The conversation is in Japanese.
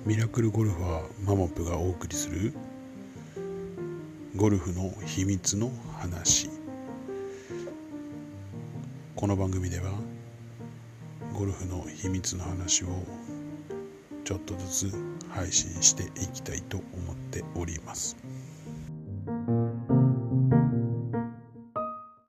ミラクルゴルファーマモプがお送りするゴルフの秘密の話。この番組ではゴルフの秘密の話をちょっとずつ配信していきたいと思っております。